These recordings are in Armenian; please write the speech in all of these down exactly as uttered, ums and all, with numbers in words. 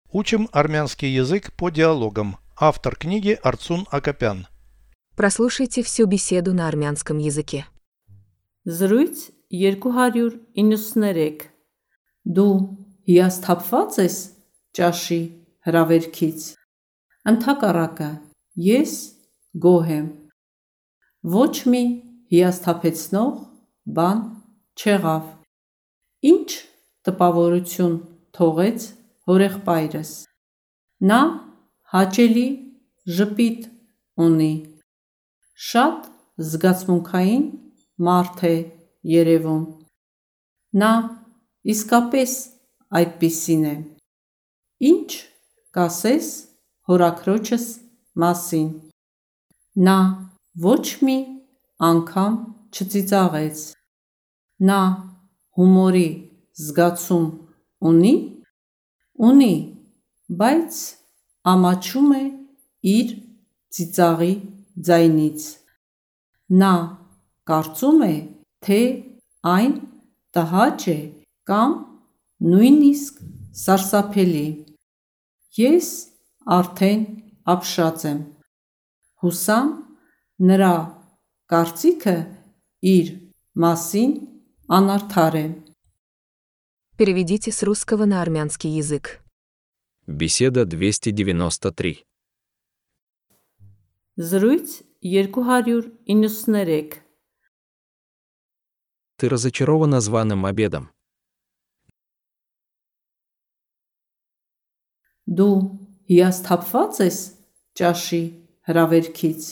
Учим армянский язык по диалогам. Автор книги Арцун Акопян. Прослушайте всю беседу на армянском языке. Զրույց երկու հարյուր իննսուներեք Դու հիասթափված ես ճաշի հրավերքից։ Ընդհակառակը, ես գոհ եմ։ Ոչ մի հիասթափեցնող բան չեղավ։ Ինչ տպավորություն թողեց հորեղբայրս։ Նա հաճելի ժպիտ ունի։ Շատ զգացմունքային մարդ է երևում։ Նա իսկապես այդպիսին է։ Ինչ կասես հորաքրոջս մասին։ Նա ոչ մի անգամ չծիծաղեց։ Նա հումորի զգացում ունի։ Ունի, բայց ամաչում է իր ծիծաղի ձայնից։ Նա կարծում է, թե այն տհաճ է կամ նույնիսկ սարսափելի։ Ես արդեն ապշած եմ։ Հուսամ նրա կարծիքը իր մասին անարդար է։ Переведите с русского на армянский язык. Беседа двести девяносто три. Զրույց երկու հարյուր իննսուներեք Ты разочарована званым обедом. Դու հիասթափված ես ճաշի հրավերքից։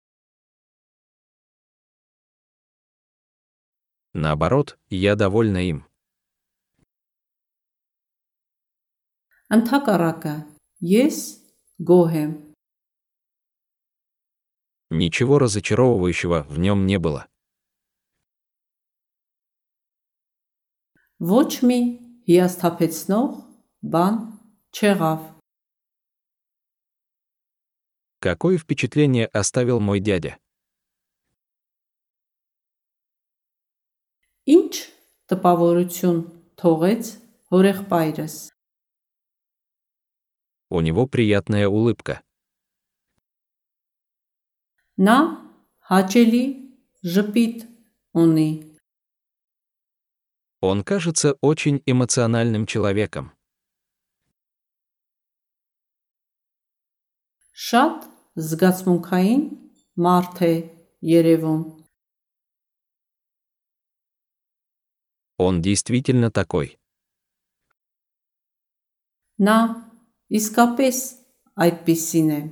Наоборот, я довольна им. Ընդհակառակը, ես գոհ եմ։ Ничего разочаровывающего в нем не было. Ոչ մի հիասթափեցնող բան չեղավ։ Какое впечатление оставил мой дядя? Ինչ տպավորություն թողեց հորեղբայրս։ У него приятная улыбка. Նա հաճելի ժպիտ ունի։ Он кажется очень эмоциональным человеком. Շատ զգացմունքային մարդ է երևում։ Он действительно такой. Նա իսկապես այդպիսին է։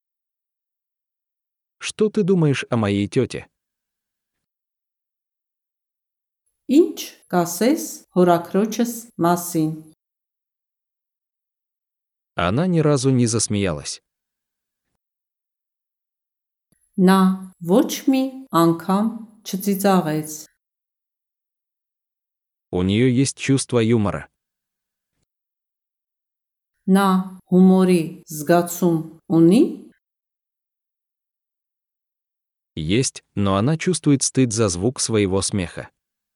Что ты думаешь о моей тете? Ինչ կասես հորաքրոջս մասին։ Она ни разу не засмеялась. Նա ոչ մի անգամ չծիծաղեց։ У нее есть чувство юмора. Նա հումորի զգացում ունի։ Есть, но она чувствует стыд за звук своего смеха.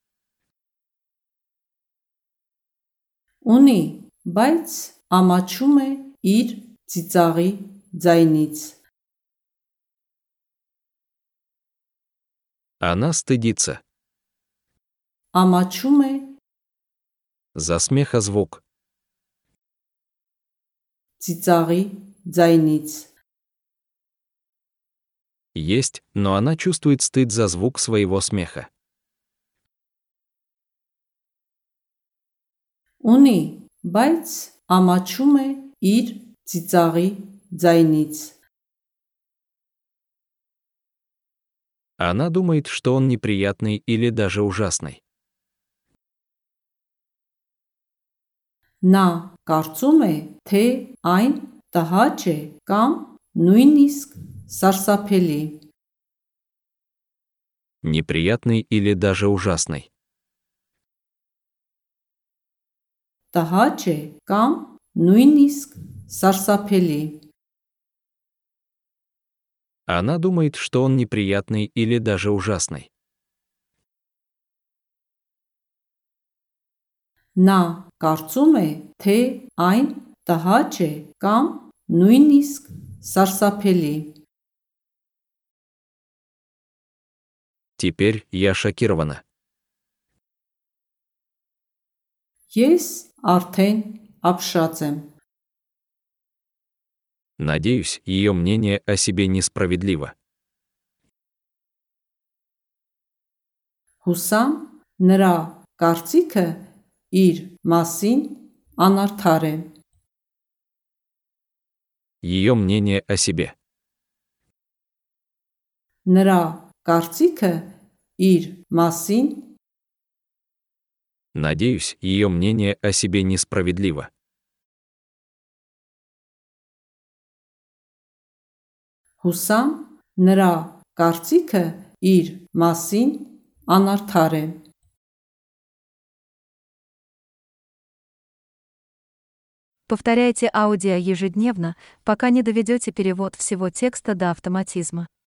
Ունի, բայց ամաչում է իր ծիծաղի ձայնից։ Она стыдится. Ամաչում է За смеха звук. ծիծաղի ձայնից։ Есть, но она чувствует стыд за звук своего смеха. Ունի, բայց ամաչում է իր ծիծաղի ձայնից։ Она думает, что он неприятный или даже ужасный. Նա կարծում է, թե այն տհաճ է կամ նույնիսկ սարսափելի։ Неприятный или даже ужасный. Տհաճ է կամ նույնիսկ սարսափելի։ Она думает, что он неприятный или даже ужасный. Նա կարծում է, թե այն տհաճ է կամ նույնիսկ սարսափելի։ Теперь я шокирована. Ես արդեն ապշած եմ։ Надеюсь, ее мнение о себе несправедливо. Հուսամ նրա կարծիքը իր մասին անարդար է։ Ее мнение о себе. Նրա կարծիքը իր մասին Надеюсь, ее мнение о себе несправедливо. հուսամ նրա կարծիքը իր մասին անարդար է։ Повторяйте аудио ежедневно, пока не доведете перевод всего текста до автоматизма.